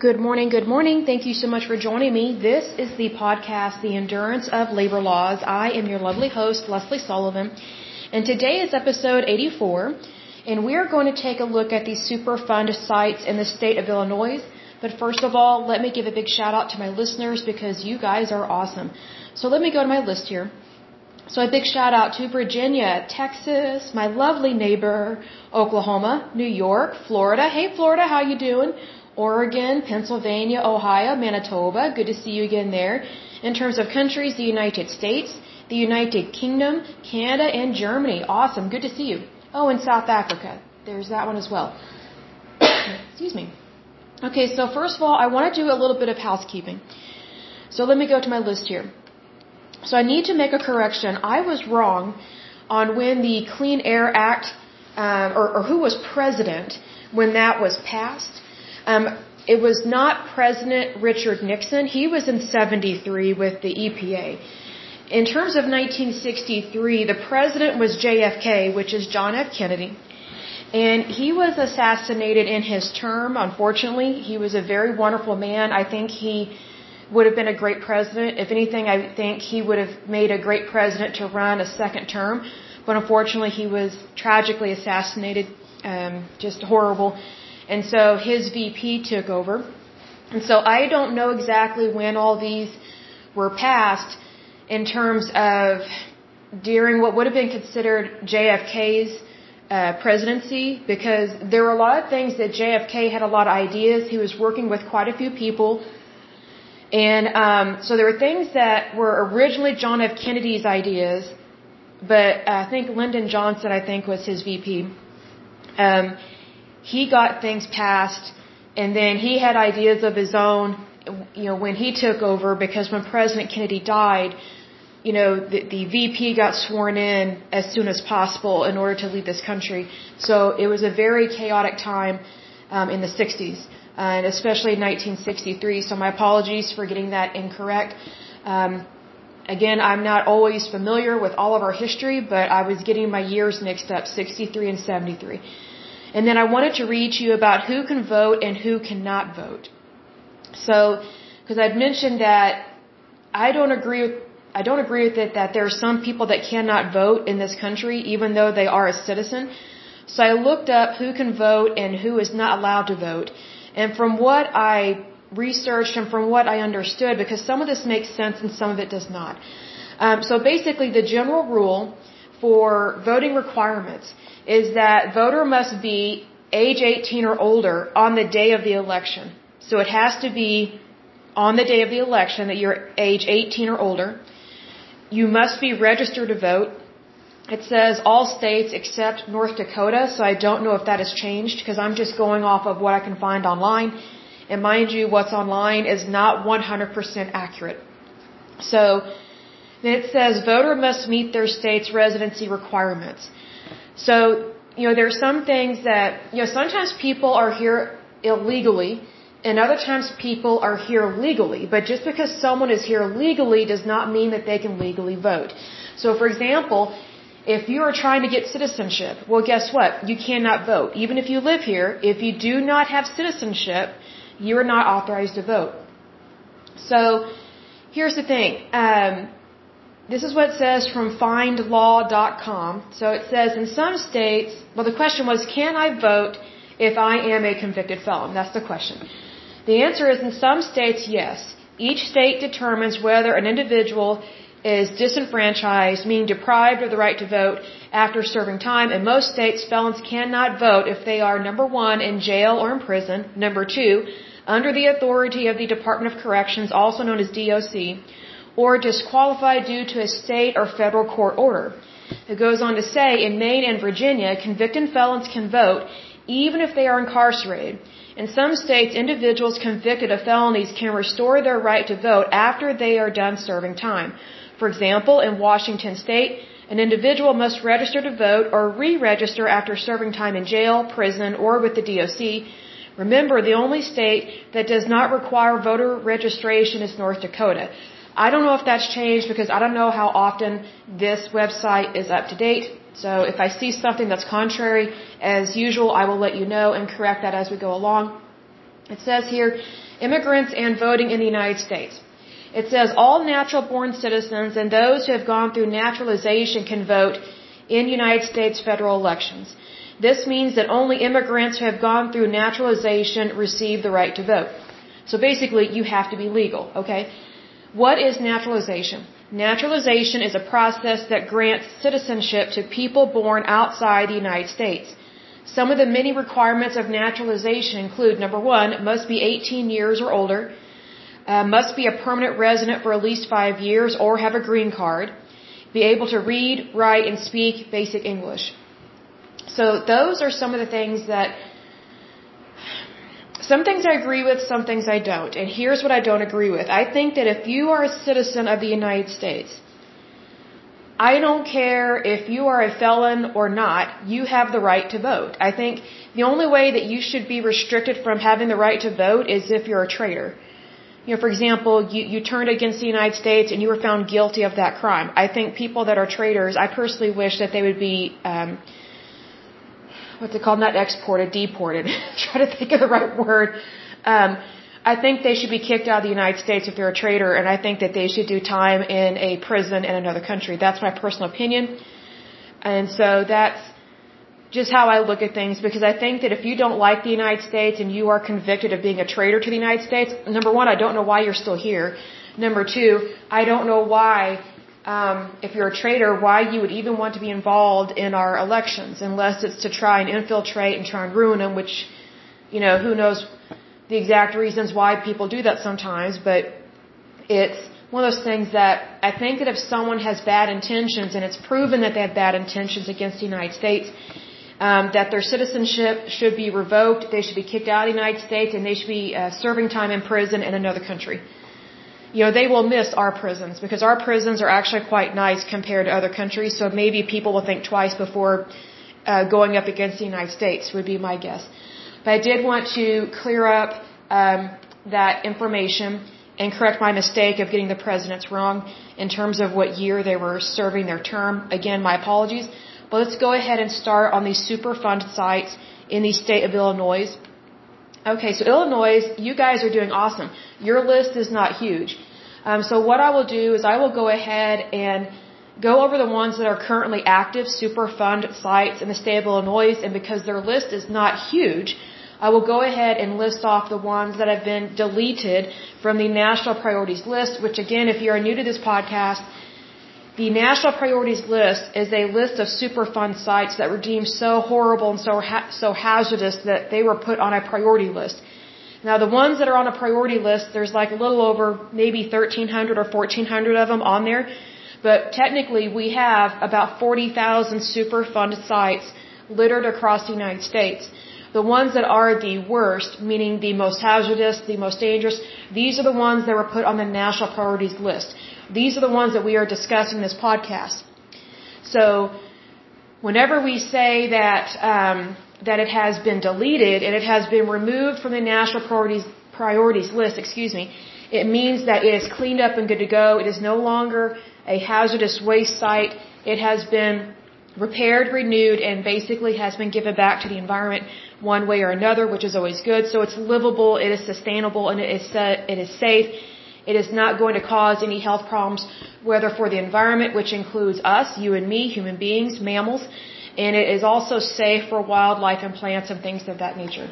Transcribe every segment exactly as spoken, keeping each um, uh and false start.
Good morning, good morning. Thank you so much for joining me. This is the podcast, The Endurance of Labor Laws. I am your lovely host, Leslie Sullivan, and today is episode eighty-four, and we are going to take a look at these Superfund sites in the state of Illinois. But first of all, let me give a big shout out to my listeners because you guys are awesome. So let me go to my list here. So a big shout out to Virginia, Texas, my lovely neighbor, Oklahoma, New York, Florida. Hey Florida, how you doing? Oregon, Pennsylvania, Ohio, Manitoba. Good to see you again there. In terms of countries, the United States, the United Kingdom, Canada, and Germany. Awesome. Good to see you. Oh, and South Africa. There's that one as well. Excuse me. Okay, so first of all, I want to do a little bit of housekeeping. So let me go to my list here. So I need to make a correction. I was wrong on when the Clean Air Act, um, or, or who was president when that was passed. Um, it was not President Richard Nixon. He was in seventy-three with the E P A. In terms of nineteen sixty-three, the president was J F K, which is John F. Kennedy. And he was assassinated in his term, unfortunately. He was a very wonderful man. I think he would have been a great president. If anything, I think he would have made a great president to run a second term. But unfortunately, he was tragically assassinated. Um, just horrible. And so his V P took over. And so I don't know exactly when all these were passed in terms of during what would have been considered J F K's uh, presidency, because there were a lot of things that J F K had a lot of ideas. He was working with quite a few people. And um, so there were things that were originally John F. Kennedy's ideas, but I think Lyndon Johnson, I think, was his V P. Um, he got things passed, and then he had ideas of his own, you know, when he took over, because when President Kennedy died, you know, the, the V P got sworn in as soon as possible in order to lead this country. So it was a very chaotic time um, in the sixties. Uh, and especially in nineteen sixty-three, so my apologies for getting that incorrect. Um, again, I'm not always familiar with all of our history, but I was getting my years mixed up, sixty-three and seventy-three. And then I wanted to read to you about who can vote and who cannot vote. So, because I'd mentioned that I don't agree with, I don't agree with it that there are some people that cannot vote in this country, even though they are a citizen. So I looked up who can vote and who is not allowed to vote. And from what I researched and from what I understood, because some of this makes sense and some of it does not. Um, so basically the general rule for voting requirements is that voter must be age eighteen or older on the day of the election. So it has to be on the day of the election that you're age eighteen or older. You must be registered to vote. It says all states except North Dakota, so I don't know if that has changed because I'm just going off of what I can find online. And mind you, what's online is not one hundred percent accurate. So then it says voter must meet their state's residency requirements. So, you know, there are some things that, you know, sometimes people are here illegally and other times people are here legally. But just because someone is here legally does not mean that they can legally vote. So, for example, if you are trying to get citizenship, well, guess what? You cannot vote. Even if you live here, if you do not have citizenship, you are not authorized to vote. So, here's the thing. Um, this is what it says from find law dot com. So it says in some states, well, the question was, can I vote if I am a convicted felon? That's the question. The answer is in some states, yes. Each state determines whether an individual is disenfranchised, meaning deprived of the right to vote after serving time. In most states, felons cannot vote if they are, number one, in jail or in prison, number two, under the authority of the Department of Corrections, also known as D O C, or disqualified due to a state or federal court order. It goes on to say, in Maine and Virginia, convicted felons can vote even if they are incarcerated. In some states, individuals convicted of felonies can restore their right to vote after they are done serving time. For example, in Washington State, an individual must register to vote or re-register after serving time in jail, prison, or with the D O C. Remember, the only state that does not require voter registration is North Dakota. I don't know if that's changed because I don't know how often this website is up to date. So if I see something that's contrary, as usual, I will let you know and correct that as we go along. It says here, immigrants and voting in the United States. It says all natural-born citizens and those who have gone through naturalization can vote in United States federal elections. This means that only immigrants who have gone through naturalization receive the right to vote. So basically, you have to be legal, okay? What is naturalization? Naturalization is a process that grants citizenship to people born outside the United States. Some of the many requirements of naturalization include, number one, must be eighteen years or older, uh, must be a permanent resident for at least five years or have a green card, be able to read, write, and speak basic English. So those are some of the things that, some things I agree with, some things I don't. And here's what I don't agree with. I think that if you are a citizen of the United States, I don't care if you are a felon or not, you have the right to vote. I think the only way that you should be restricted from having the right to vote is if you're a traitor. You know, for example, you, you turned against the United States and you were found guilty of that crime. I think people that are traitors, I personally wish that they would be, um, what's it called, not exported, deported. Try to think of the right word. Um, I think they should be kicked out of the United States if they're a traitor, and I think that they should do time in a prison in another country. That's my personal opinion. And so that's just how I look at things, because I think that if you don't like the United States and you are convicted of being a traitor to the United States, number one, I don't know why you're still here. Number two, I don't know why, um, if you're a traitor, why you would even want to be involved in our elections, unless it's to try and infiltrate and try and ruin them, which, you know, who knows the exact reasons why people do that sometimes, but it's one of those things that I think that if someone has bad intentions, and it's proven that they have bad intentions against the United States, um, that their citizenship should be revoked, they should be kicked out of the United States, and they should be uh, serving time in prison in another country. You know, they will miss our prisons, because our prisons are actually quite nice compared to other countries, so maybe people will think twice before uh, going up against the United States, would be my guess. But I did want to clear up um, that information and correct my mistake of getting the presidents wrong in terms of what year they were serving their term. Again, my apologies. But let's go ahead and start on these Superfund sites in the state of Illinois. Okay, so Illinois, you guys are doing awesome. Your list is not huge. Um, so what I will do is I will go ahead and go over the ones that are currently active Superfund sites in the state of Illinois, and because their list is not huge, I will go ahead and list off the ones that have been deleted from the National Priorities List, which again, if you are new to this podcast, the National Priorities List is a list of Superfund sites that were deemed so horrible and so ha so hazardous that they were put on a priority list. Now, the ones that are on a priority list, there's like a little over maybe thirteen hundred or fourteen hundred of them on there, but technically we have about forty thousand Superfund sites littered across the United States. The ones that are the worst, meaning the most hazardous, the most dangerous, these are the ones that were put on the National Priorities List. These are the ones that we are discussing in this podcast. So, whenever we say that um, that it has been deleted and it has been removed from the National Priorities Priorities List, excuse me, it means that it is cleaned up and good to go. It is no longer a hazardous waste site. It has been repaired, renewed, and basically has been given back to the environment one way or another, which is always good. So it's livable, it is sustainable, and it is it is safe. It is not going to cause any health problems, whether for the environment, which includes us, you and me, human beings, mammals, and it is also safe for wildlife and plants and things of that nature.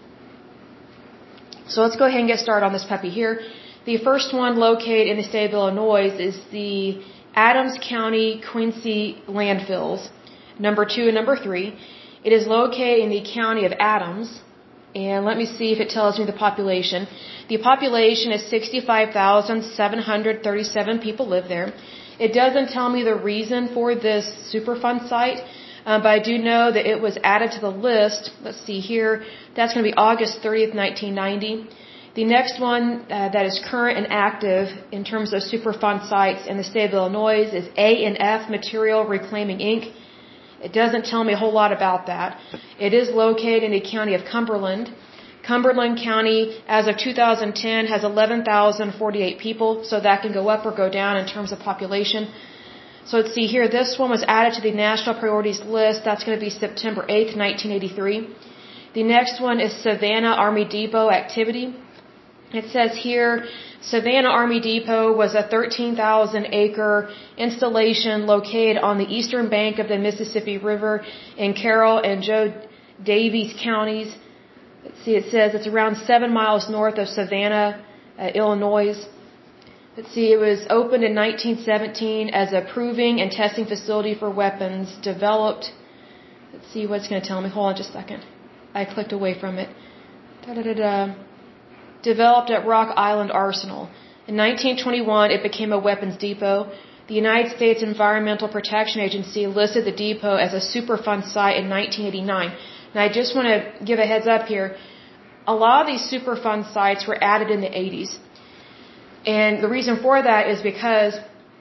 So let's go ahead and get started on this puppy here. The first one located in the state of Illinois is the Adams County Quincy landfills, number two and number three. It is located in the county of Adams, and let me see if it tells me the population. The population is sixty-five thousand seven hundred thirty-seven people live there. It doesn't tell me the reason for this Superfund site, um, but I do know that it was added to the list. Let's see here. That's going to be August thirtieth, nineteen ninety. The next one uh, that is current and active in terms of Superfund sites in the state of Illinois is A and F Material Reclaiming Incorporated. It doesn't tell me a whole lot about that. It is located in the county of Cumberland. Cumberland County, as of two thousand ten, has eleven thousand forty-eight people, so that can go up or go down in terms of population. So let's see here. This one was added to the National Priorities List. That's going to be September eighth, nineteen eighty-three. The next one is Savannah Army Depot activity. It says here, Savannah Army Depot was a thirteen thousand acre installation located on the eastern bank of the Mississippi River in Carroll and Joe Daviess counties. Let's see, it says it's around seven miles north of Savannah, uh, Illinois. Let's see, it was opened in nineteen seventeen as a proving and testing facility for weapons developed. Let's see what it's going to tell me. Hold on just a second. I clicked away from it. Da-da-da-da. Developed at Rock Island Arsenal. In nineteen twenty-one, it became a weapons depot. The United States Environmental Protection Agency listed the depot as a Superfund site in nineteen eighty-nine. Now, I just want to give a heads up here. A lot of these Superfund sites were added in the eighties. And the reason for that is because,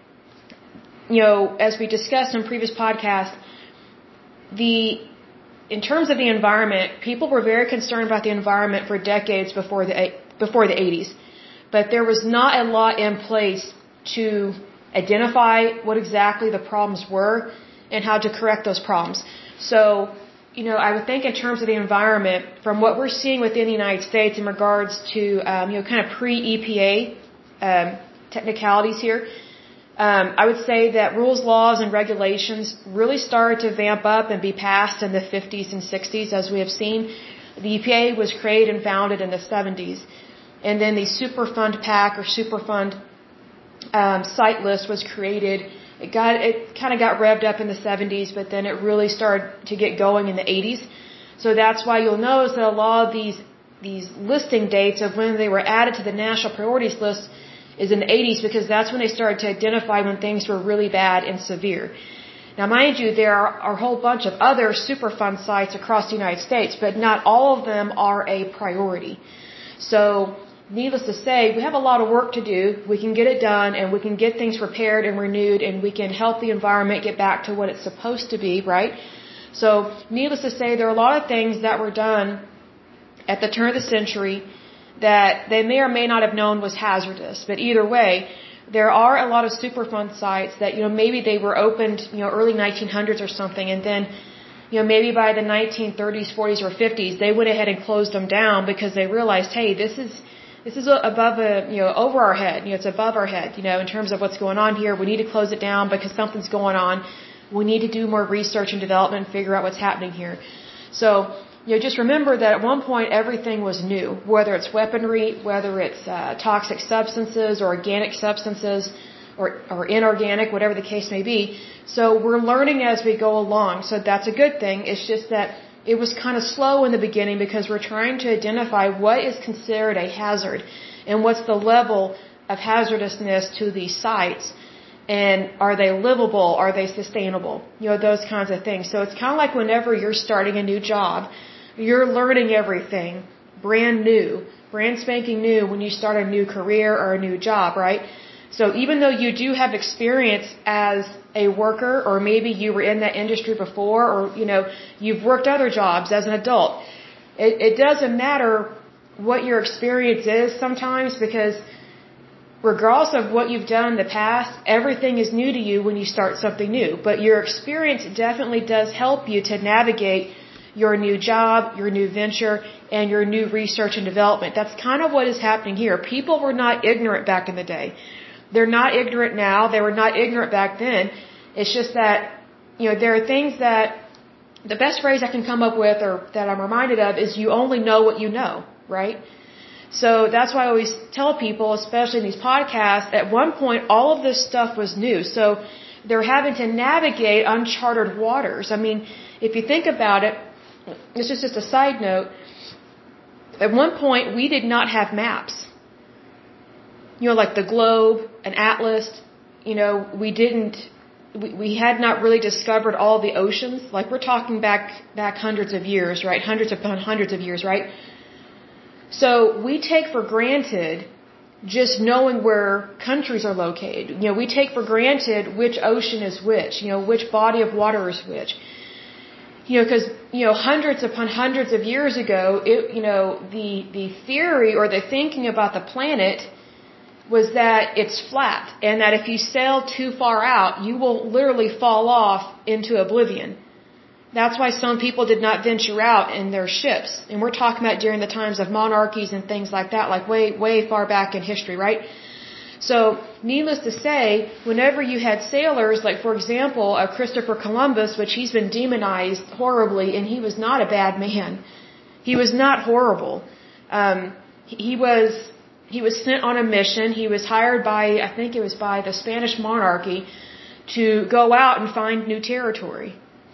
you know, as we discussed in previous podcasts, the in terms of the environment, people were very concerned about the environment for decades before the before the eighties. But there was not a lot in place to identify what exactly the problems were and how to correct those problems. So, you know, I would think in terms of the environment, from what we're seeing within the United States in regards to, um, you know, kind of pre-E P A um, technicalities here, Um, I would say that rules, laws, and regulations really started to vamp up and be passed in the fifties and sixties, as we have seen. The E P A was created and founded in the seventies. And then the Superfund PAC or Superfund um, site list was created. It got it kind of got revved up in the seventies, but then it really started to get going in the eighties. So that's why you'll notice that a lot of these these listing dates of when they were added to the national priorities list is in the eighties, because that's when they started to identify when things were really bad and severe. Now, mind you, there are a whole bunch of other Superfund sites across the United States, but not all of them are a priority. So, needless to say, we have a lot of work to do. We can get it done, and we can get things repaired and renewed, and we can help the environment get back to what it's supposed to be, right? So, needless to say, there are a lot of things that were done at the turn of the century that they may or may not have known was hazardous. But either way, there are a lot of Superfund sites that, you know, maybe they were opened, you know, early nineteen hundreds or something, and then, you know, maybe by the nineteen thirties, forties, or fifties, they went ahead and closed them down because they realized, hey, this is this is above a, you know, over our head. You know, it's above our head, you know, in terms of what's going on here. We need to close it down because something's going on. We need to do more research and development and figure out what's happening here. So, you know, just remember that at one point everything was new, whether it's weaponry, whether it's uh, toxic substances or organic substances or, or inorganic, whatever the case may be. So we're learning as we go along. So that's a good thing. It's just that it was kind of slow in the beginning because we're trying to identify what is considered a hazard and what's the level of hazardousness to these sites. And are they livable? Are they sustainable? You know, those kinds of things. So it's kind of like whenever you're starting a new job, you're learning everything brand new, brand spanking new when you start a new career or a new job, right? So even though you do have experience as a worker, or maybe you were in that industry before, or, you know, you've worked other jobs as an adult, it, it doesn't matter what your experience is sometimes, because regardless of what you've done in the past, everything is new to you when you start something new. But your experience definitely does help you to navigate your new job, your new venture, and your new research and development. That's kind of what is happening here. People were not ignorant back in the day. They're not ignorant now. They were not ignorant back then. It's just that, you know, there are things that, the best phrase I can come up with, or that I'm reminded of, is you only know what you know, right? So that's why I always tell people, especially in these podcasts, at one point all of this stuff was new. So they're having to navigate uncharted waters. I mean, if you think about it, this is just a side note. At one point, we did not have maps. You know, like the globe, an atlas. You know, we didn't. We, we had not really discovered all the oceans. Like we're talking back back hundreds of years, right? Hundreds upon hundreds of years, right? So we take for granted just knowing where countries are located. You know, we take for granted which ocean is which. You know, which body of water is which. You know, because, you know, hundreds upon hundreds of years ago, it, you know, the, the theory or the thinking about the planet was that it's flat, and that if you sail too far out, you will literally fall off into oblivion, That's why some people did not venture out in their ships. And we're talking about during the times of monarchies and things like that, like way, way far back in history, right? So, needless to say, whenever you had sailors, like for example, uh, Christopher Columbus, which he's been demonized horribly, and he was not a bad man. He was not horrible. Um, he was, he was sent on a mission. He was hired by, I think it was by the Spanish monarchy, to go out and find new territory.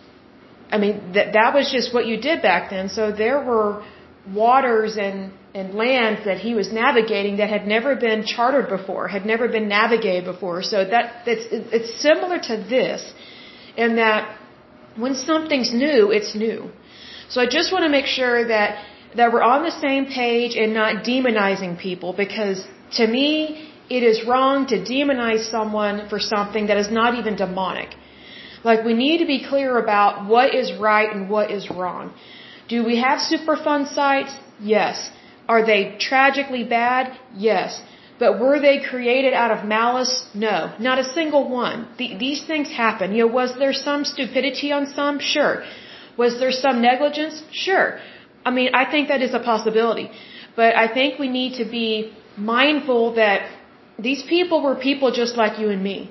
I mean, that that was just what you did back then. So there were waters and, and lands that he was navigating that had never been chartered before, had never been navigated before. So that that's it's similar to this, in that when something's new, it's new. So I just want to make sure that that we're on the same page and not demonizing people, because to me, it is wrong to demonize someone for something that is not even demonic. Like, we need to be clear about what is right and what is wrong. Do we have Superfund sites? Yes. Are they tragically bad? Yes. But were they created out of malice? No. Not a single one. The, these things happen. You know, was there some stupidity on some? Sure. Was there some negligence? Sure. I mean, I think that is a possibility. But I think we need to be mindful that these people were people just like you and me.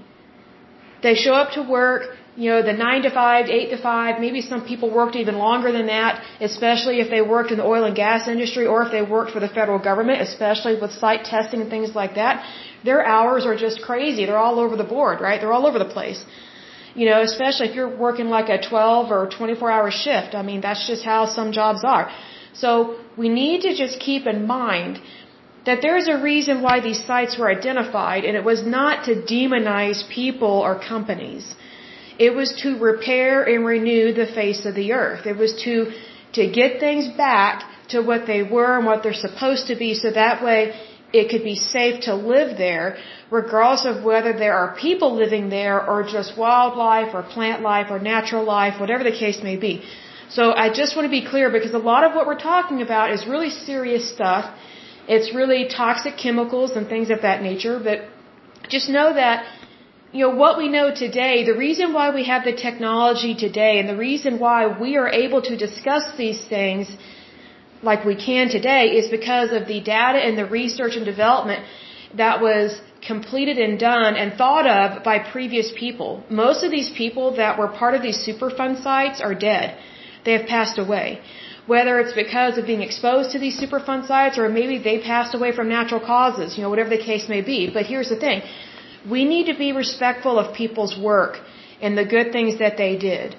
They show up to work, you know, the nine to five, eight to five, maybe some people worked even longer than that, especially if they worked in the oil and gas industry or if they worked for the federal government, especially with site testing and things like that. Their hours are just crazy. They're all over the board, right? They're all over the place. You know, especially if you're working like a twelve or twenty-four hour shift. I mean, that's just how some jobs are. So we need to just keep in mind that there's a reason why these sites were identified, and it was not to demonize people or companies. It was to repair and renew the face of the earth. It was to, to get things back to what they were and what they're supposed to be, so that way it could be safe to live there, regardless of whether there are people living there or just wildlife or plant life or natural life, whatever the case may be. So I just want to be clear, because a lot of what we're talking about is really serious stuff. It's really toxic chemicals and things of that nature, but just know that, you know, what we know today, the reason why we have the technology today and the reason why we are able to discuss these things like we can today is because of the data and the research and development that was completed and done and thought of by previous people. Most of these people that were part of these Superfund sites are dead. They have passed away. Whether it's because of being exposed to these Superfund sites or maybe they passed away from natural causes, you know, whatever the case may be. But here's the thing. We need to be respectful of people's work and the good things that they did.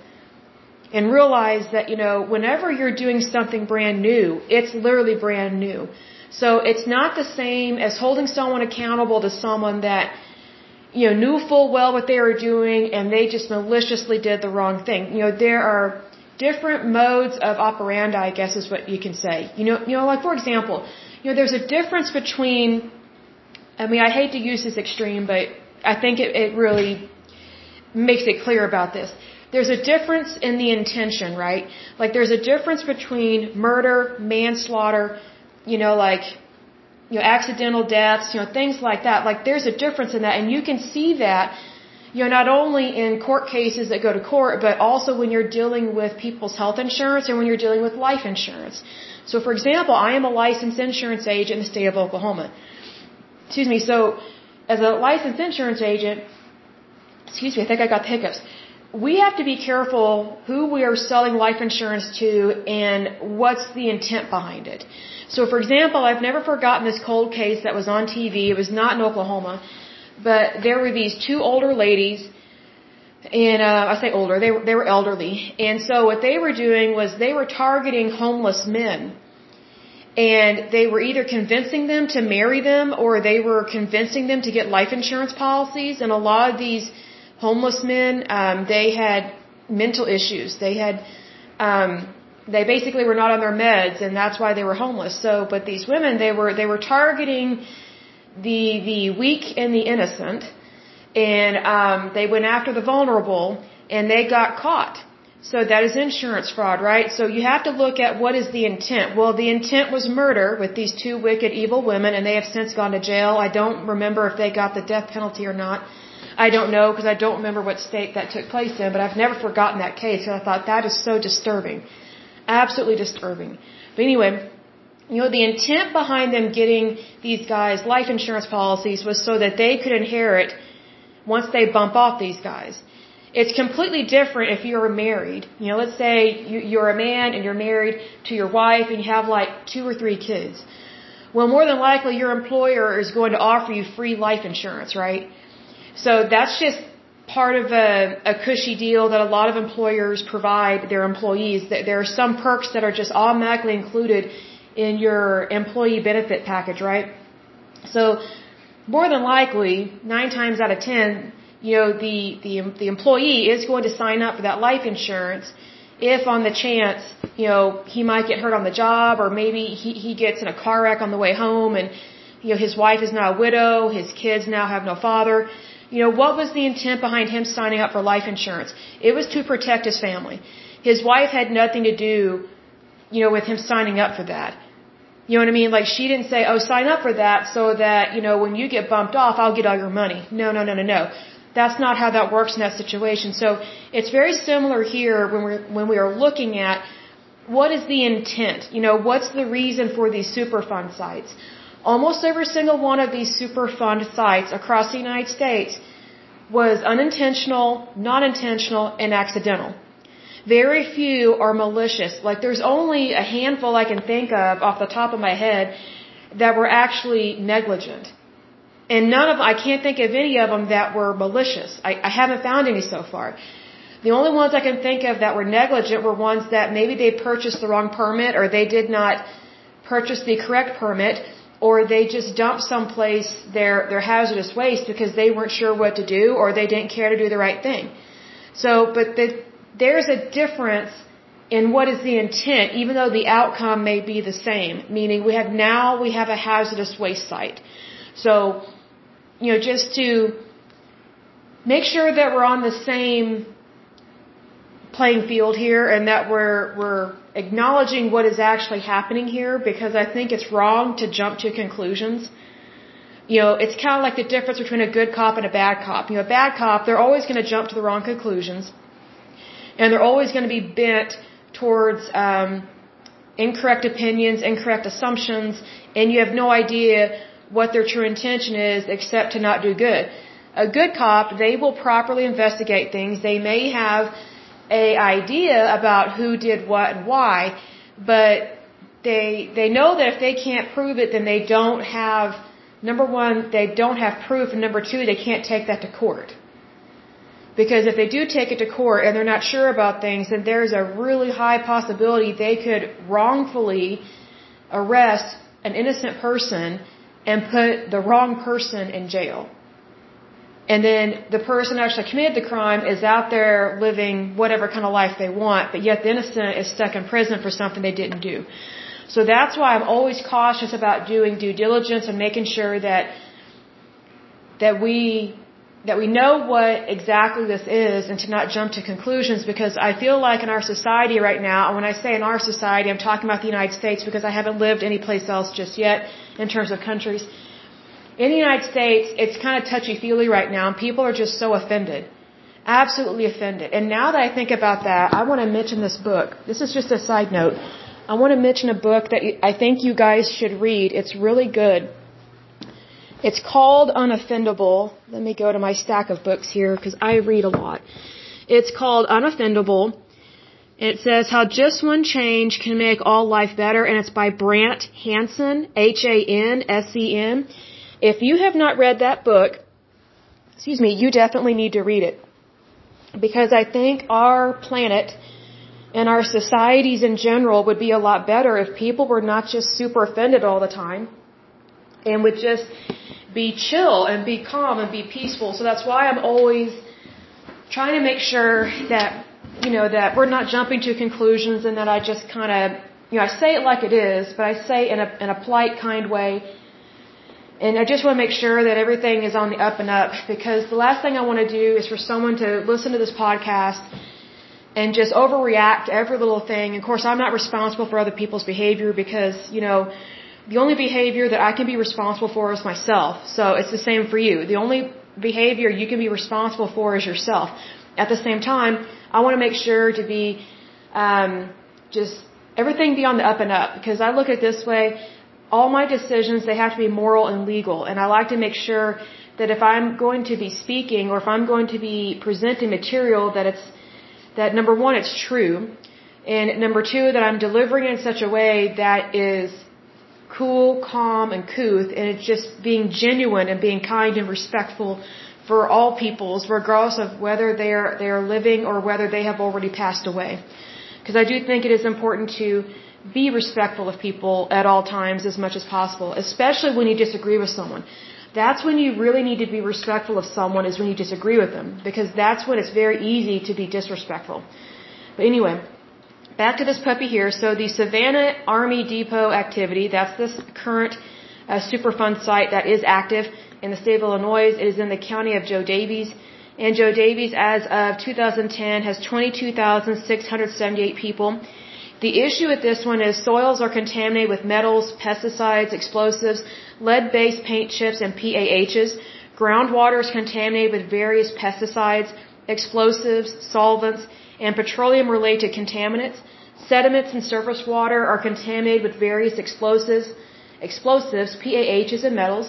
And realize that, you know, whenever you're doing something brand new, it's literally brand new. So it's not the same as holding someone accountable to someone that, you know, knew full well what they were doing and they just maliciously did the wrong thing. You know, there are different modes of operandi, I guess is what you can say. You know, you know, like for example, you know, there's a difference between, I mean, I hate to use this extreme, but I think it, it really makes it clear about this. There's a difference in the intention, right? Like there's a difference between murder, manslaughter, you know, like, you know, accidental deaths, you know, things like that. Like there's a difference in that, and you can see that, you know, not only in court cases that go to court, but also when you're dealing with people's health insurance and when you're dealing with life insurance. So, for example, I am a licensed insurance agent in the state of Oklahoma. Excuse me. So, as a licensed insurance agent, excuse me, I think I got the hiccups. We have to be careful who we are selling life insurance to and what's the intent behind it. So, for example, I've never forgotten this cold case that was on T V. It was not in Oklahoma. But there were these two older ladies, and uh, I say older, they were, they were elderly. And so what they were doing was they were targeting homeless men. And they were either convincing them to marry them or they were convincing them to get life insurance policies. And a lot of these homeless men, um, they had mental issues. They had, um, they basically were not on their meds, and that's why they were homeless. So, but these women, they were, they were targeting the the weak and the innocent, and um, they went after the vulnerable, and they got caught. So that is insurance fraud, right? So you have to look at what is the intent. Well, the intent was murder with these two wicked, evil women, and they have since gone to jail. I don't remember if they got the death penalty or not. I don't know because I don't remember what state that took place in, but I've never forgotten that case because I thought that is so disturbing. Absolutely disturbing. But anyway, you know, the intent behind them getting these guys life insurance policies was so that they could inherit once they bump off these guys. It's completely different if you're married. You know, let's say you, you're a man and you're married to your wife and you have like two or three kids. Well, more than likely your employer is going to offer you free life insurance, right? So that's just part of a, a cushy deal that a lot of employers provide their employees. There are some perks that are just automatically included in your employee benefit package, right? So more than likely, nine times out of ten, you know, the, the, the employee is going to sign up for that life insurance if on the chance, you know, he might get hurt on the job, or maybe he, he gets in a car wreck on the way home and, you know, his wife is now a widow, his kids now have no father. You know, what was the intent behind him signing up for life insurance? It was to protect his family. His wife had nothing to do, you know, with him signing up for that. You know what I mean? Like, she didn't say, oh, sign up for that so that, you know, when you get bumped off, I'll get all your money. No, no, no, no, no. That's not how that works in that situation. So it's very similar here when we're, when we are looking at what is the intent? You know, what's the reason for these Superfund sites? Almost every single one of these Superfund sites across the United States was unintentional, non-intentional, and accidental. Very few are malicious. Like, there's only a handful I can think of off the top of my head that were actually negligent. And none of, I can't think of any of them that were malicious. I, I haven't found any so far. The only ones I can think of that were negligent were ones that maybe they purchased the wrong permit, or they did not purchase the correct permit, or they just dumped someplace their, their hazardous waste because they weren't sure what to do, or they didn't care to do the right thing. So, but the, there's a difference in what is the intent, even though the outcome may be the same. Meaning, we have now we have a hazardous waste site. So, you know, just to make sure that we're on the same playing field here, and that we're we're acknowledging what is actually happening here, because I think it's wrong to jump to conclusions. You know, it's kind of like the difference between a good cop and a bad cop. You know, a bad cop, they're always going to jump to the wrong conclusions, and they're always going to be bent towards um, incorrect opinions, incorrect assumptions, and you have no idea what their true intention is except to not do good. A good cop, they will properly investigate things. They may have a idea about who did what and why, but they they know that if they can't prove it, then they don't have, number one, they don't have proof, and number two, they can't take that to court. Because if they do take it to court and they're not sure about things, then there's a really high possibility they could wrongfully arrest an innocent person and put the wrong person in jail. And then the person who actually committed the crime is out there living whatever kind of life they want, but yet the innocent is stuck in prison for something they didn't do. So that's why I'm always cautious about doing due diligence and making sure that that we that we know what exactly this is, and to not jump to conclusions, because I feel like in our society right now, and when I say in our society, I'm talking about the United States because I haven't lived anyplace else just yet in terms of countries. In the United States, it's kind of touchy-feely right now, and people are just so offended. Absolutely offended. And now that I think about that, I want to mention this book. This is just a side note. I want to mention a book that I think you guys should read. It's really good. It's called Unoffendable. Let me go to my stack of books here because I read a lot. It's called Unoffendable. It says How Just One Change Can Make All Life Better, and it's by Brant Hansen, H A N S E N. If you have not read that book, excuse me, you definitely need to read it. Because I think our planet and our societies in general would be a lot better if people were not just super offended all the time and would just be chill and be calm and be peaceful. So that's why I'm always trying to make sure that, you know, that we're not jumping to conclusions, and that I just kind of, you know, I say it like it is, but I say it in a, in a polite, kind way. And I just want to make sure that everything is on the up and up, because the last thing I want to do is for someone to listen to this podcast and just overreact to every little thing. Of course, I'm not responsible for other people's behavior, because, you know, the only behavior that I can be responsible for is myself. So it's the same for you. The only behavior you can be responsible for is yourself. At the same time, I want to make sure to be um, just everything be on the up and up, because I look at it this way: all my decisions, they have to be moral and legal, and I like to make sure that if I'm going to be speaking or if I'm going to be presenting material, that it's that number one, it's true, and number two, that I'm delivering it in such a way that is cool, calm, and couth, and it's just being genuine and being kind and respectful for all peoples, regardless of whether they're they're living or whether they have already passed away. Because I do think it is important to be respectful of people at all times as much as possible, especially when you disagree with someone. That's when you really need to be respectful of someone, is when you disagree with them, because that's when it's very easy to be disrespectful. But anyway, back to this puppy here. So the Savannah Army Depot activity, that's this current uh, Superfund site that is active in the state of Illinois. It is in the county of Joe Daviess. And Joe Daviess, as of two thousand ten, has twenty-two thousand six hundred seventy-eight people. The issue with this one is soils are contaminated with metals, pesticides, explosives, lead-based paint chips, and P A Hs. Groundwater is contaminated with various pesticides, explosives, solvents, and petroleum-related contaminants. Sediments in surface water are contaminated with various explosives, explosives, P A Hs, and metals.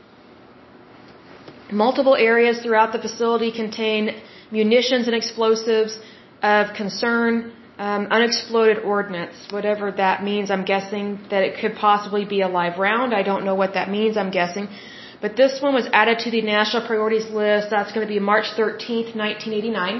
Multiple areas throughout the facility contain munitions and explosives of concern, um, unexploded ordnance, whatever that means. I'm guessing that it could possibly be a live round. I don't know what that means, I'm guessing. But this one was added to the national priorities list. That's going to be March thirteenth, nineteen eighty-nine.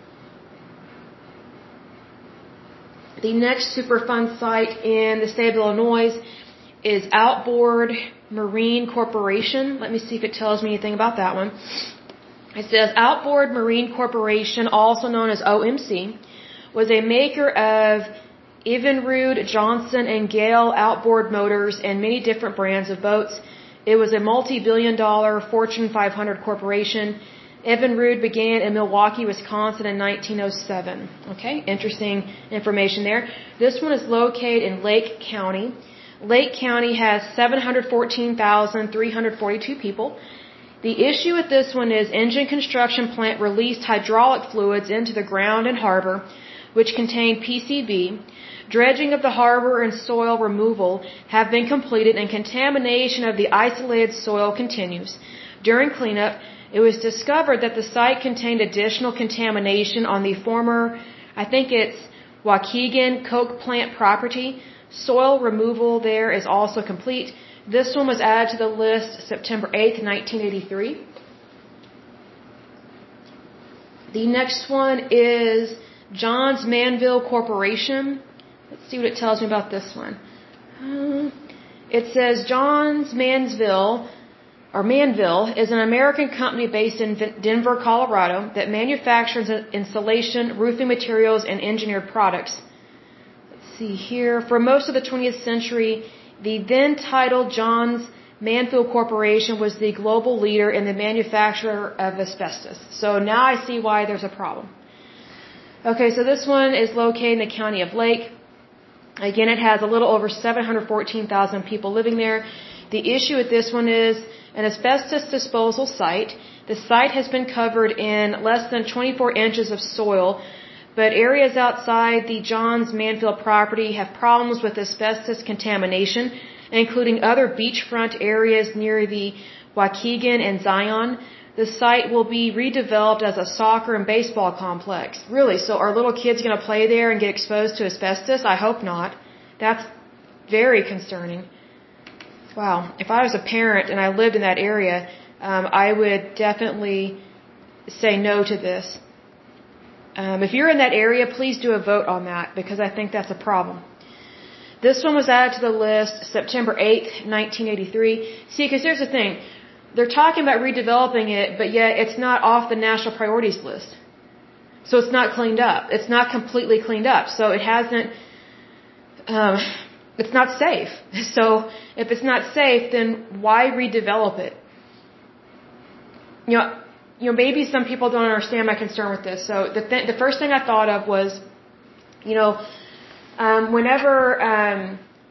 The next Superfund site in the state of Illinois is Outboard Marine Corporation. Let me see if it tells me anything about that one. It says Outboard Marine Corporation, also known as O M C, was a maker of Evinrude, Johnson, and Gale outboard motors and many different brands of boats. It was a multi-billion dollar Fortune five hundred corporation. Evinrude began in Milwaukee, Wisconsin in nineteen oh seven. Okay, interesting information there. This one is located in Lake County. Lake County has seven hundred fourteen thousand three hundred forty-two people. The issue with this one is engine construction plant released hydraulic fluids into the ground and harbor, which contained P C B. Dredging of the harbor and soil removal have been completed, and contamination of the isolated soil continues. During cleanup, it was discovered that the site contained additional contamination on the former, I think it's Waukegan Coke plant property. Soil removal there is also complete. This one was added to the list September eighth, nineteen eighty-three. The next one is Johns Manville Corporation. Let's see what it tells me about this one. Uh, it says Johns Manville, or Manville, is an American company based in Denver, Colorado, that manufactures insulation, roofing materials, and engineered products. See here, for most of the twentieth century, the then titled Johns Manville Corporation was the global leader in the manufacture of asbestos. So now I see why there's a problem. Okay, so this one is located in the county of Lake. Again, it has a little over seven hundred fourteen thousand people living there. The issue with this one is an asbestos disposal site. The site has been covered in less than twenty-four inches of soil, but areas outside the Johns Manville property have problems with asbestos contamination, including other beachfront areas near the Waukegan and Zion. The site will be redeveloped as a soccer and baseball complex. Really? So are little kids going to play there and get exposed to asbestos? I hope not. That's very concerning. Wow. If I was a parent and I lived in that area, um, I would definitely say no to this. Um, if you're in that area, please do a vote on that, because I think that's a problem. This one was added to the list September eighth, nineteen eighty-three. See, because here's the thing. They're talking about redeveloping it, but yet it's not off the national priorities list. So it's not cleaned up. It's not completely cleaned up. So it hasn't, um, it's not safe. So if it's not safe, then why redevelop it? You know, you know, maybe some people don't understand my concern with this. So the th- the first thing I thought of was, you know, um, whenever um,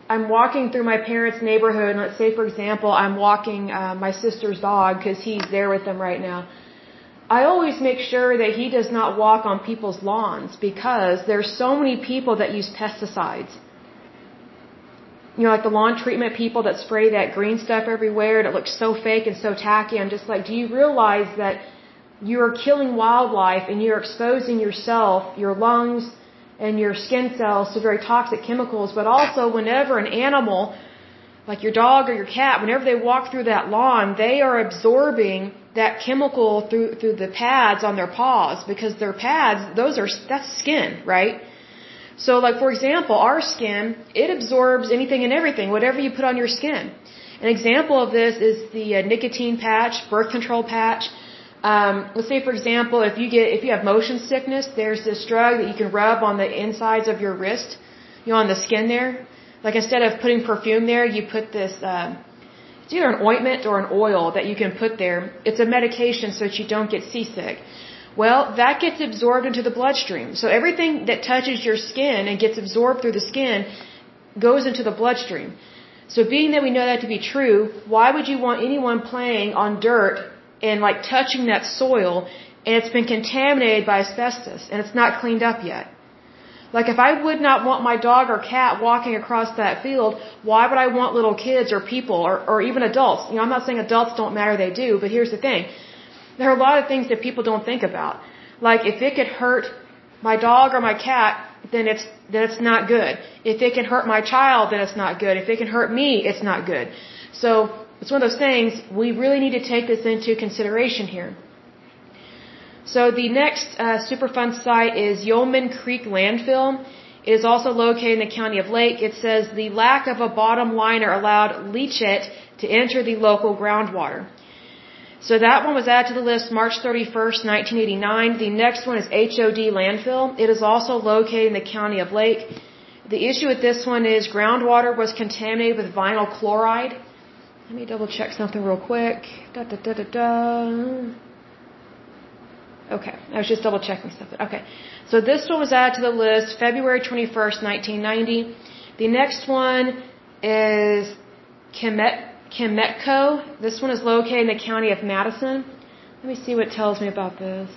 I'm walking through my parents' neighborhood, and let's say, for example, I'm walking uh, my sister's dog because he's there with them right now. I always make sure that he does not walk on people's lawns because there's so many people that use pesticides. You know, like the lawn treatment people that spray that green stuff everywhere that looks so fake and so tacky. I'm just like, do you realize that you're killing wildlife and you're exposing yourself, your lungs, and your skin cells to very toxic chemicals, but also whenever an animal, like your dog or your cat, whenever they walk through that lawn, they are absorbing that chemical through through the pads on their paws because their pads, those are, that's skin, right? So like, for example, our skin, it absorbs anything and everything, whatever you put on your skin. An example of this is the uh, nicotine patch, birth control patch. Um, let's say, for example, if you get, if you have motion sickness, there's this drug that you can rub on the insides of your wrist, you know, on the skin there. Like instead of putting perfume there, you put this, uh, it's either an ointment or an oil that you can put there. It's a medication so that you don't get seasick. Well, that gets absorbed into the bloodstream. So everything that touches your skin and gets absorbed through the skin goes into the bloodstream. So being that we know that to be true, why would you want anyone playing on dirt and like touching that soil and it's been contaminated by asbestos and it's not cleaned up yet? Like if I would not want my dog or cat walking across that field, why would I want little kids or people or, or even adults? You know, I'm not saying adults don't matter, they do, but here's the thing. There are a lot of things that people don't think about. Like if it could hurt my dog or my cat, then it's then it's not good. If it can hurt my child, then it's not good. If it can hurt me, it's not good. So it's one of those things, we really need to take this into consideration here. So the next uh, Superfund site is Yeoman Creek Landfill. It is also located in the county of Lake. It says the lack of a bottom liner allowed leachate to enter the local groundwater. So that one was added to the list March thirty-first, nineteen eighty-nine. The next one is H O D landfill. It is also located in the county of Lake. The issue with this one is groundwater was contaminated with vinyl chloride. Let me double check something real quick. Da, da, da, da, da. Okay, I was just double checking something. Okay, so this one was added to the list February twenty-first, nineteen ninety. The next one is Kemet. Kemetco. This one is located in the county of Madison. Let me see what it tells me about this.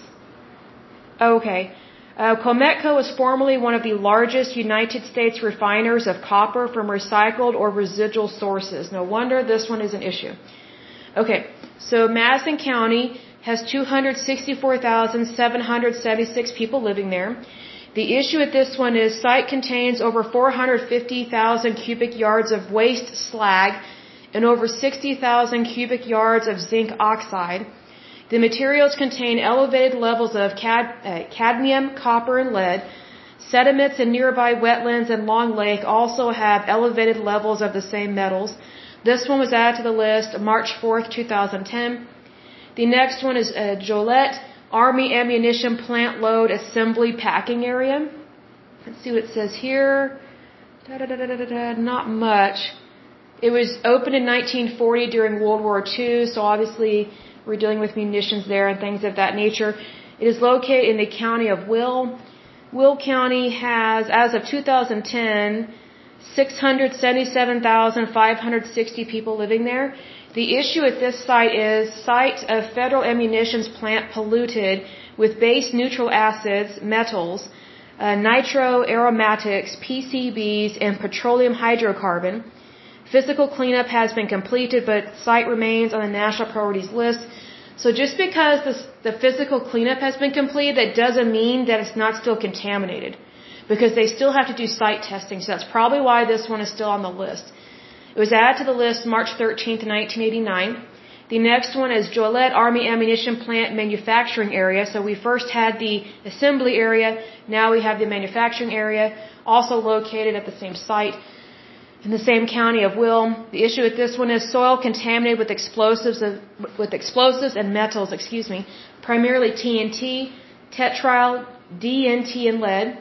Okay. Uh, Kemetco was formerly one of the largest United States refiners of copper from recycled or residual sources. No wonder this one is an issue. Okay. So Madison County has two hundred sixty-four thousand seven hundred seventy-six people living there. The issue with this one is site contains over four hundred fifty thousand cubic yards of waste slag and over sixty thousand cubic yards of zinc oxide. The materials contain elevated levels of cad- uh, cadmium, copper, and lead. Sediments in nearby wetlands and Long Lake also have elevated levels of the same metals. This one was added to the list March fourth, twenty ten. The next one is uh, Joliet Army Ammunition Plant Load Assembly Packing Area. Let's see what it says here. Da, da, da, da, da, da, not much. It was opened in nineteen forty during World War Two, so obviously we're dealing with munitions there and things of that nature. It is located in the county of Will. Will County has, as of two thousand ten, six hundred seventy-seven thousand five hundred sixty people living there. The issue at this site is site of federal ammunitions plant polluted with base neutral acids, metals, uh, nitroaromatics, P C Bs, and petroleum hydrocarbon. Physical cleanup has been completed, but site remains on the national priorities list. So just because this, the physical cleanup has been completed, that doesn't mean that it's not still contaminated, because they still have to do site testing. So that's probably why this one is still on the list. It was added to the list March thirteenth, nineteen eighty-nine. The next one is Joliet Army Ammunition Plant Manufacturing Area. So we first had the assembly area, now we have the manufacturing area, also located at the same site in the same county of Will. The issue with this one is soil contaminated with explosives of, with explosives and metals, excuse me, primarily T N T, tetryl, D N T, and lead.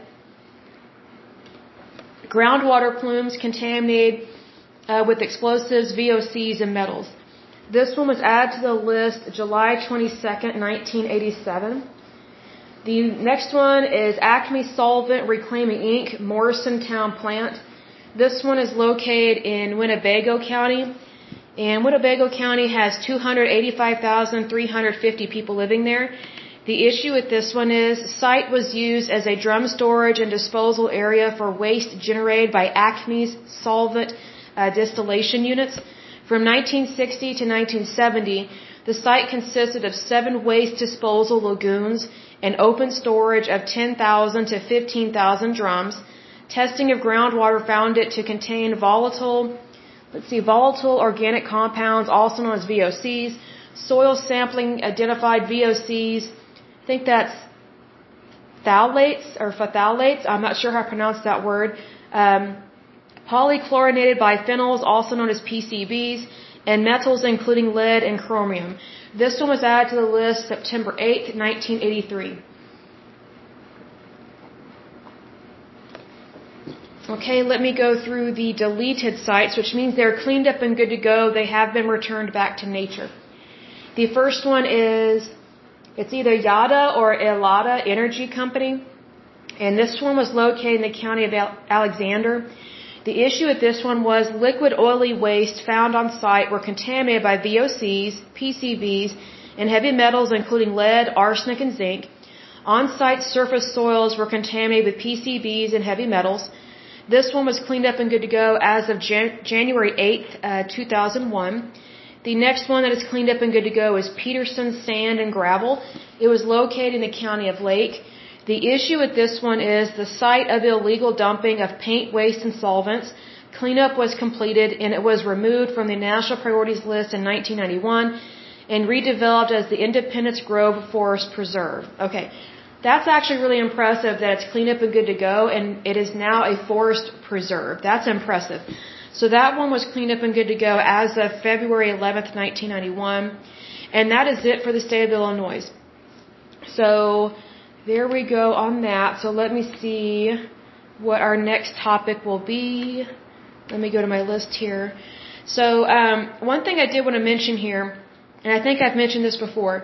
Groundwater plumes contaminated uh, with explosives, V O Cs, and metals. This one was added to the list July twenty-second, nineteen eighty-seven. The next one is Acme Solvent Reclaiming Incorporated, Morrisontown Plant. This one is located in Winnebago County. And Winnebago County has two hundred eighty-five thousand three hundred fifty people living there. The issue with this one is the site was used as a drum storage and disposal area for waste generated by Acme's solvent uh, distillation units. From nineteen sixty to nineteen seventy, the site consisted of seven waste disposal lagoons and open storage of ten thousand to fifteen thousand drums. Testing of groundwater found it to contain volatile, let's see, volatile organic compounds, also known as V O Cs. Soil sampling identified V O Cs. I think that's phthalates or phthalates. I'm not sure how to pronounce that word. Um, polychlorinated biphenyls, also known as P C Bs, and metals including lead and chromium. This one was added to the list September eighth, nineteen eighty-three. Okay, let me go through the deleted sites, which means they're cleaned up and good to go. They have been returned back to nature. The first one is, it's either Yada or Elada Energy Company, and this one was located in the county of Alexander. The issue with this one was liquid oily waste found on site were contaminated by V O Cs, P C Bs, and heavy metals including lead, arsenic, and zinc. On-site surface soils were contaminated with P C Bs and heavy metals. This one was cleaned up and good to go as of Jan January eighth, uh, two thousand one. The next one that is cleaned up and good to go is Peterson Sand and Gravel. It was located in the county of Lake. The issue with this one is the site of illegal dumping of paint, waste, and solvents. Cleanup was completed and it was removed from the National Priorities List in nineteen ninety-one and redeveloped as the Independence Grove Forest Preserve. Okay. That's actually really impressive that it's cleaned up and good to go, and it is now a forest preserve. That's impressive. So that one was cleaned up and good to go as of February eleventh, nineteen ninety-one. And that is it for the state of Illinois. So there we go on that. So let me see what our next topic will be. Let me go to my list here. So um, one thing I did want to mention here, and I think I've mentioned this before,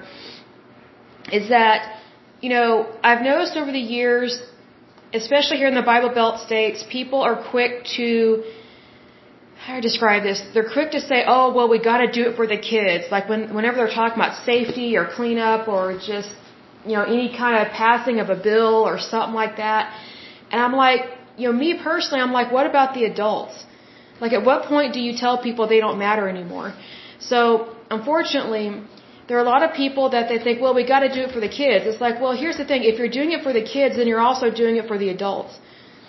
is that you know, I've noticed over the years, especially here in the Bible Belt states, people are quick to, how do I describe this? They're quick to say, oh, well, we got to do it for the kids. Like when, whenever they're talking about safety or cleanup or just, you know, any kind of passing of a bill or something like that. And I'm like, you know, me personally, I'm like, what about the adults? Like at what point do you tell people they don't matter anymore? So, unfortunately, there are a lot of people that they think, well, we got to do it for the kids. It's like, well, here's the thing. If you're doing it for the kids, then you're also doing it for the adults.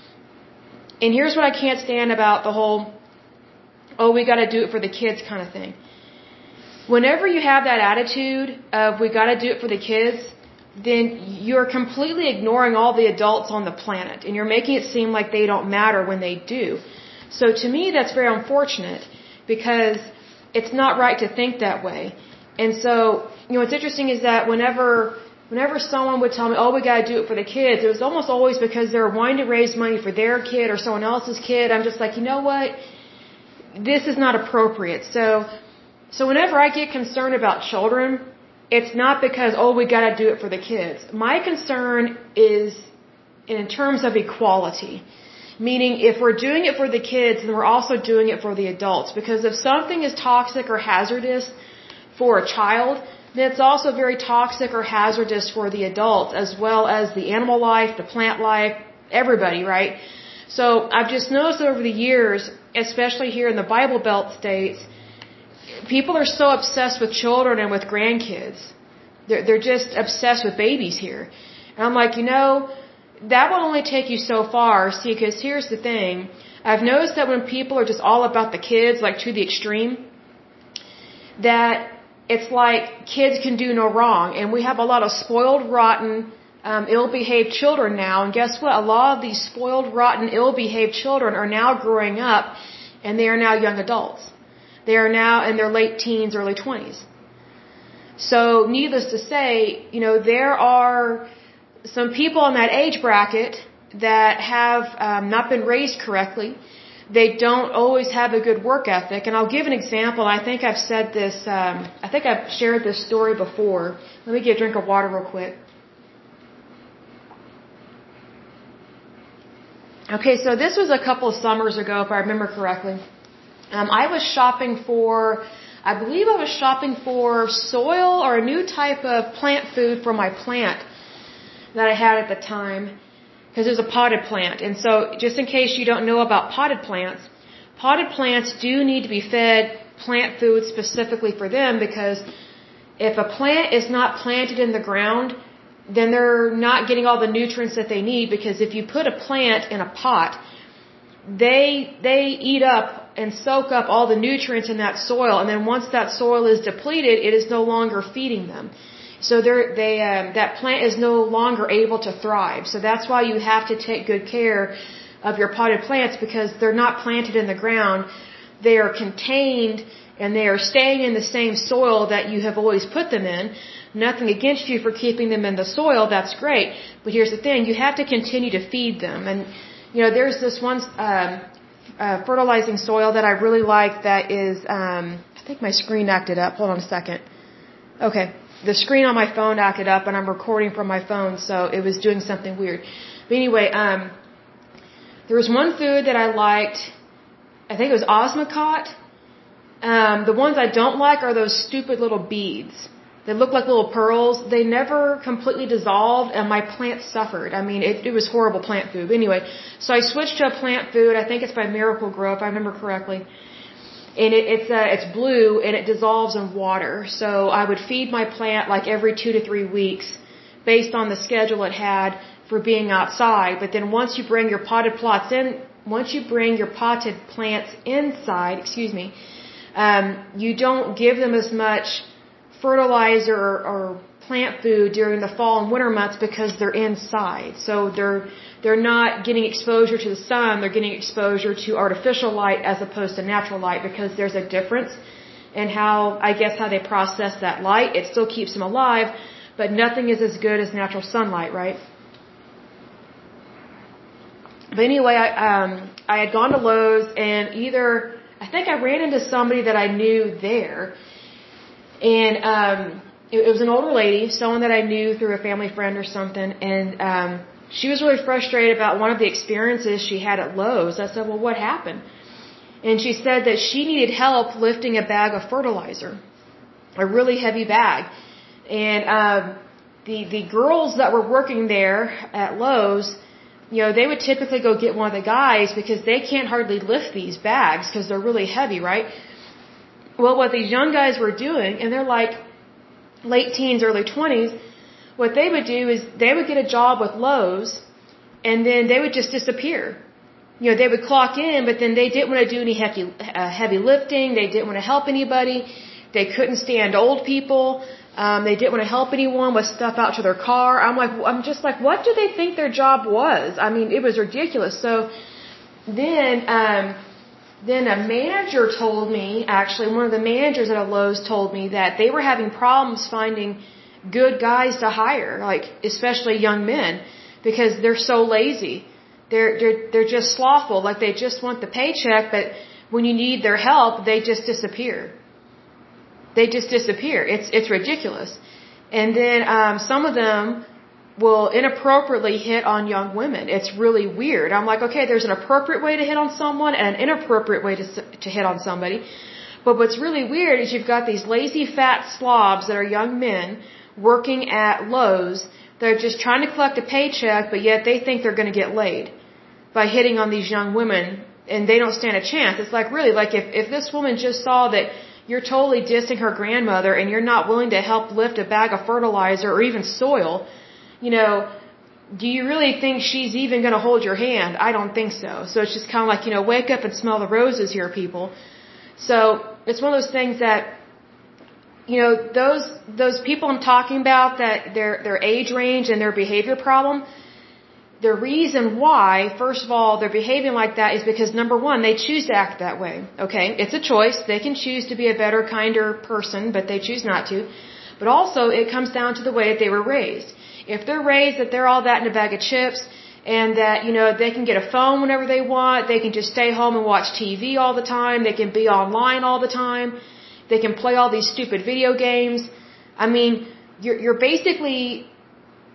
And here's what I can't stand about the whole, oh, we got to do it for the kids kind of thing. Whenever you have that attitude of we got to do it for the kids, then you're completely ignoring all the adults on the planet. And you're making it seem like they don't matter when they do. So to me, that's very unfortunate because it's not right to think that way. And so, you know, what's interesting is that whenever, whenever someone would tell me, oh, we got to do it for the kids, it was almost always because they were wanting to raise money for their kid or someone else's kid. I'm just like, you know what? This is not appropriate. So, so whenever I get concerned about children, it's not because, oh, we got to do it for the kids. My concern is in terms of equality. Meaning, if we're doing it for the kids, then we're also doing it for the adults. Because if something is toxic or hazardous for a child, then it's also very toxic or hazardous for the adults, as well as the animal life, the plant life, everybody, right? So I've just noticed over the years, especially here in the Bible Belt states, people are so obsessed with children and with grandkids. They're, they're just obsessed with babies here. And I'm like, you know, that will only take you so far. See, because here's the thing. I've noticed that when people are just all about the kids, like to the extreme, that it's like kids can do no wrong. And we have a lot of spoiled, rotten, um, ill-behaved children now. And guess what? A lot of these spoiled, rotten, ill-behaved children are now growing up, and they are now young adults. They are now in their late teens, early twenties. So needless to say, you know, there are some people in that age bracket that have um, not been raised correctly. They don't always have a good work ethic. And I'll give an example. I think I've said this, um, I think I've shared this story before. Let me get a drink of water real quick. Okay, so this was a couple of summers ago, if I remember correctly. Um, I was shopping for, I believe I was shopping for soil or a new type of plant food for my plant that I had at the time, because it was a potted plant. And so, just in case you don't know about potted plants, potted plants do need to be fed plant food specifically for them, because if a plant is not planted in the ground, then they're not getting all the nutrients that they need, because if you put a plant in a pot, they they eat up and soak up all the nutrients in that soil, and then once that soil is depleted, it is no longer feeding them. So they're, they um, that plant is no longer able to thrive. So that's why you have to take good care of your potted plants, because they're not planted in the ground. They are contained and they are staying in the same soil that you have always put them in. Nothing against you for keeping them in the soil, that's great. But here's the thing, you have to continue to feed them. And, you know, there's this one um, uh, fertilizing soil that I really like that is, um, I think my screen acted up. Hold on a second. Okay. The screen on my phone acted up, and I'm recording from my phone, so it was doing something weird. But anyway, um, there was one food that I liked. I think it was Osmocote. Um, the ones I don't like are those stupid little beads. They look like little pearls. They never completely dissolved, and my plant suffered. I mean, it, it was horrible plant food. Anyway, so I switched to a plant food. I think it's by Miracle Grow, if I remember correctly. And it, it's uh, it's blue, and it dissolves in water. So I would feed my plant like every two to three weeks, based on the schedule it had for being outside. But then once you bring your potted plots in, once you bring your potted plants inside, excuse me, um, you don't give them as much fertilizer or, or plant food during the fall and winter months, because they're inside. So they're they're not getting exposure to the sun, they're getting exposure to artificial light as opposed to natural light, because there's a difference in how, I guess, how they process that light. It still keeps them alive, but nothing is as good as natural sunlight, right? But anyway, I um I had gone to Lowe's, and either I think I ran into somebody that I knew there, and um it, it was an older lady, someone that I knew through a family friend or something, and um she was really frustrated about one of the experiences she had at Lowe's. I said, well, what happened? And she said that she needed help lifting a bag of fertilizer, a really heavy bag. And um, the the girls that were working there at Lowe's, you know, they would typically go get one of the guys, because they can't hardly lift these bags because they're really heavy, right? Well, what these young guys were doing, and they're like late teens, early twenties, what they would do is they would get a job with Lowe's, and then they would just disappear. You know, they would clock in, but then they didn't want to do any heavy, uh, heavy lifting. They didn't want to help anybody. They couldn't stand old people. Um, they didn't want to help anyone with stuff out to their car. I'm like, I'm just like, what do they think their job was? I mean, it was ridiculous. So then, um, then a manager told me, actually, one of the managers at a Lowe's told me that they were having problems finding good guys to hire, like especially young men, because they're so lazy. They're they're they're just slothful. Like, they just want the paycheck, but when you need their help, they just disappear. They just disappear. It's it's ridiculous. And then um, some of them will inappropriately hit on young women. It's really weird. I'm like, okay, there's an appropriate way to hit on someone and an inappropriate way to to hit on somebody. But what's really weird is you've got these lazy fat slobs that are young men working at Lowe's. They're just trying to collect a paycheck, but yet they think they're going to get laid by hitting on these young women, and they don't stand a chance. It's like, really, like if, if this woman just saw that you're totally dissing her grandmother and you're not willing to help lift a bag of fertilizer or even soil, you know, do you really think she's even going to hold your hand? I don't think so. So it's just kind of like, you know, wake up and smell the roses here, people. So it's one of those things that, you know, those those people I'm talking about, that their their age range and their behavior problem, the reason why, first of all, they're behaving like that is because, number one, they choose to act that way. Okay? It's a choice. They can choose to be a better, kinder person, but they choose not to. But also, it comes down to the way that they were raised. If they're raised that they're all that in a bag of chips, and that, you know, they can get a phone whenever they want, they can just stay home and watch T V all the time, they can be online all the time, they can play all these stupid video games. I mean, you're, you're basically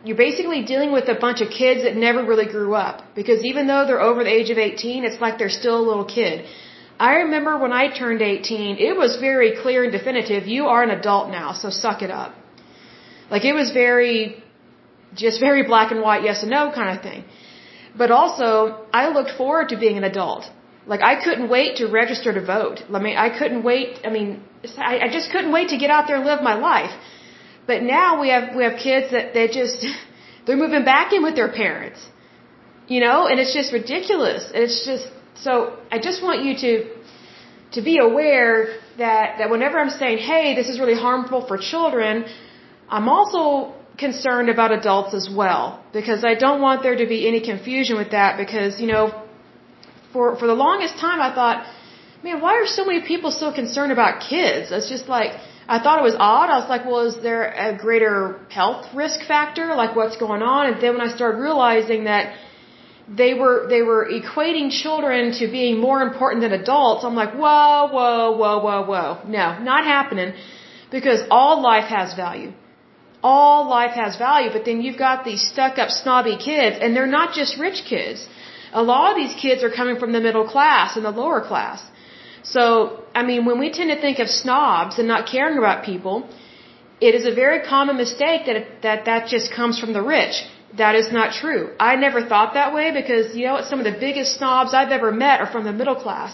you're basically dealing with a bunch of kids that never really grew up. Because even though they're over the age of eighteen, it's like they're still a little kid. I remember when I turned eighteen, it was very clear and definitive, you are an adult now, so suck it up. Like it was very, just very black and white, yes and no kind of thing. But also, I looked forward to being an adult. Like I couldn't wait to register to vote. I mean, I couldn't wait, I mean, I, I just couldn't wait to get out there and live my life. But now we have, we have kids that they just, they're moving back in with their parents. You know, and it's just ridiculous. It's just, so I just want you to, to be aware that, that whenever I'm saying, hey, this is really harmful for children, I'm also concerned about adults as well. Because I don't want there to be any confusion with that because, you know, for, for the longest time I thought, man, why are so many people so concerned about kids? It's just like, I thought it was odd. I was like, well, is there a greater health risk factor? Like what's going on? And then when I started realizing that they were, they were equating children to being more important than adults, I'm like, whoa, whoa, whoa, whoa, whoa. No, not happening because all life has value. All life has value, but then you've got these stuck up snobby kids and they're not just rich kids. A lot of these kids are coming from the middle class and the lower class. So, I mean, when we tend to think of snobs and not caring about people, it is a very common mistake that that, that just comes from the rich. That is not true. I never thought that way because, you know what, some of the biggest snobs I've ever met are from the middle class.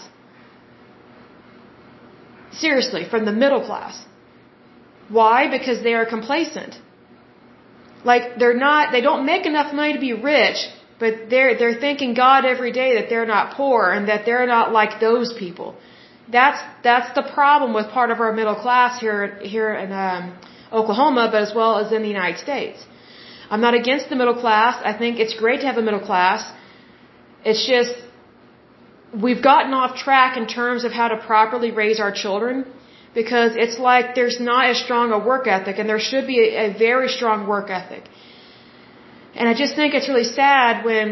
Seriously, from the middle class. Why? Because they are complacent. Like, they're not, they don't make enough money to be rich, but they're, they're thanking God every day that they're not poor and that they're not like those people. That's, that's the problem with part of our middle class here, here in, um, Oklahoma, but as well as in the United States. I'm not against the middle class. I think it's great to have a middle class. It's just, we've gotten off track in terms of how to properly raise our children because it's like there's not as strong a work ethic and there should be a, a very strong work ethic. And I just think it's really sad when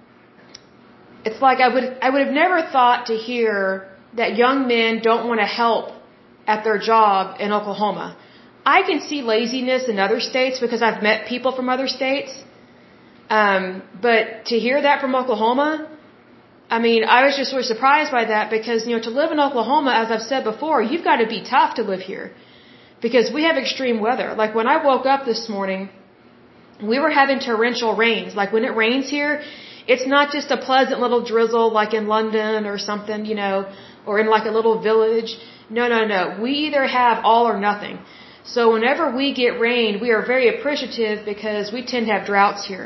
it's like I would, I would have never thought to hear that young men don't want to help at their job in Oklahoma. I can see laziness in other states because I've met people from other states. Um, but to hear that from Oklahoma, I mean, I was just sort of surprised by that because, you know, to live in Oklahoma, as I've said before, you've got to be tough to live here because we have extreme weather. Like when I woke up this morning, we were having torrential rains. Like when it rains here, it's not just a pleasant little drizzle like in London or something, you know, or in like a little village. No, no, no. We either have all or nothing. So whenever we get rain, we are very appreciative because we tend to have droughts here.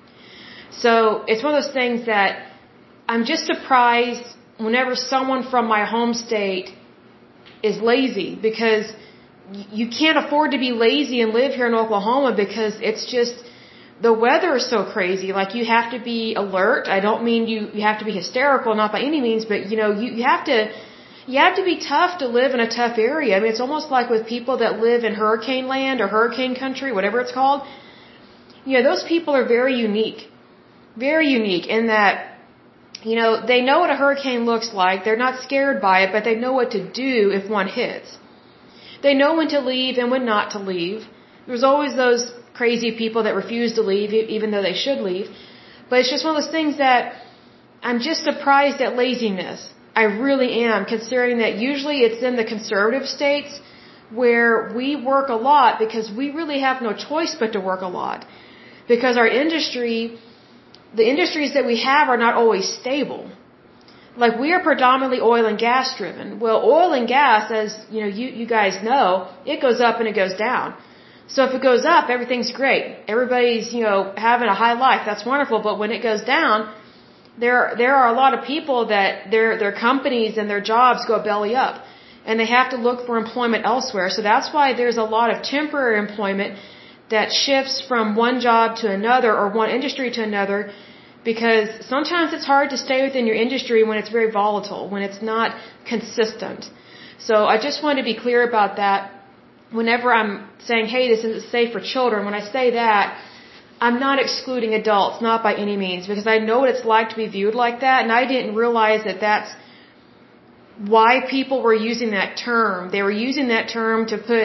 So it's one of those things that I'm just surprised whenever someone from my home state is lazy because you can't afford to be lazy and live here in Oklahoma because it's just, the weather is so crazy. Like you have to be alert. I don't mean you, you have to be hysterical, not by any means, but you know, you, you have to, you have to be tough to live in a tough area. I mean, it's almost like with people that live in hurricane land or hurricane country, whatever it's called. You know, those people are very unique. Very unique in that, you know, they know what a hurricane looks like. They're not scared by it, but they know what to do if one hits. They know when to leave and when not to leave. There's always those crazy people that refuse to leave even though they should leave. But it's just one of those things that I'm just surprised at laziness. I really am, considering that usually it's in the conservative states where we work a lot because we really have no choice but to work a lot. Because our industry, the industries that we have are not always stable. Like we are predominantly oil and gas driven. Well, oil and gas, as you know, you, you guys know, it goes up and it goes down. So if it goes up, everything's great. Everybody's, you know, having a high life. That's wonderful. But when it goes down, there there are a lot of people that their their companies and their jobs go belly up, and they have to look for employment elsewhere. So that's why there's a lot of temporary employment that shifts from one job to another or one industry to another, because sometimes it's hard to stay within your industry when it's very volatile, when it's not consistent. So I just want to be clear about that. Whenever I'm saying, hey, this isn't safe for children, when I say that, I'm not excluding adults, not by any means, because I know what it's like to be viewed like that, and I didn't realize that that's why people were using that term. They were using that term to put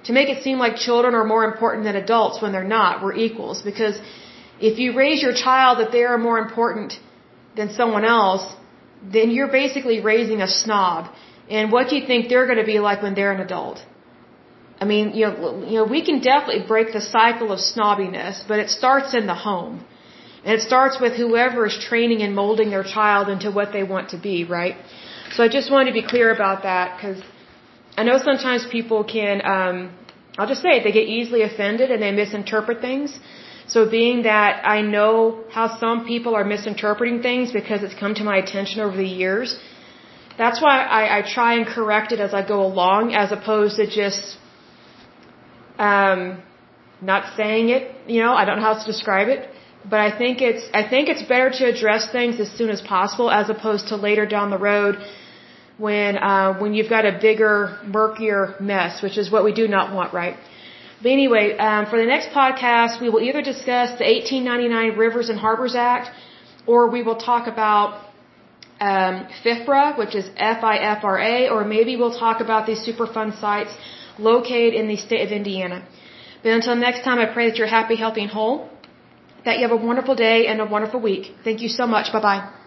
to make it seem like children are more important than adults when they're not. We're equals. Because if you raise your child that they are more important than someone else, then you're basically raising a snob. And what do you think they're going to be like when they're an adult? I mean, you know, you know, we can definitely break the cycle of snobbiness, but it starts in the home. And it starts with whoever is training and molding their child into what they want to be, right? So I just wanted to be clear about that, because I know sometimes people can, um, I'll just say it, they get easily offended and they misinterpret things. So being that I know how some people are misinterpreting things because it's come to my attention over the years, that's why I, I try and correct it as I go along, as opposed to just um, not saying it. You know, I don't know how else to describe it. But I think it's I think it's better to address things as soon as possible, as opposed to later down the road when uh, when you've got a bigger, murkier mess, which is what we do not want, right? But anyway, um, for the next podcast, we will either discuss the eighteen ninety-nine Rivers and Harbors Act, or we will talk about um, FIFRA, which is F I F R A, or maybe we'll talk about these Superfund sites located in the state of Indiana. But until next time, I pray that you're happy, healthy, and whole, that you have a wonderful day and a wonderful week. Thank you so much. Bye-bye.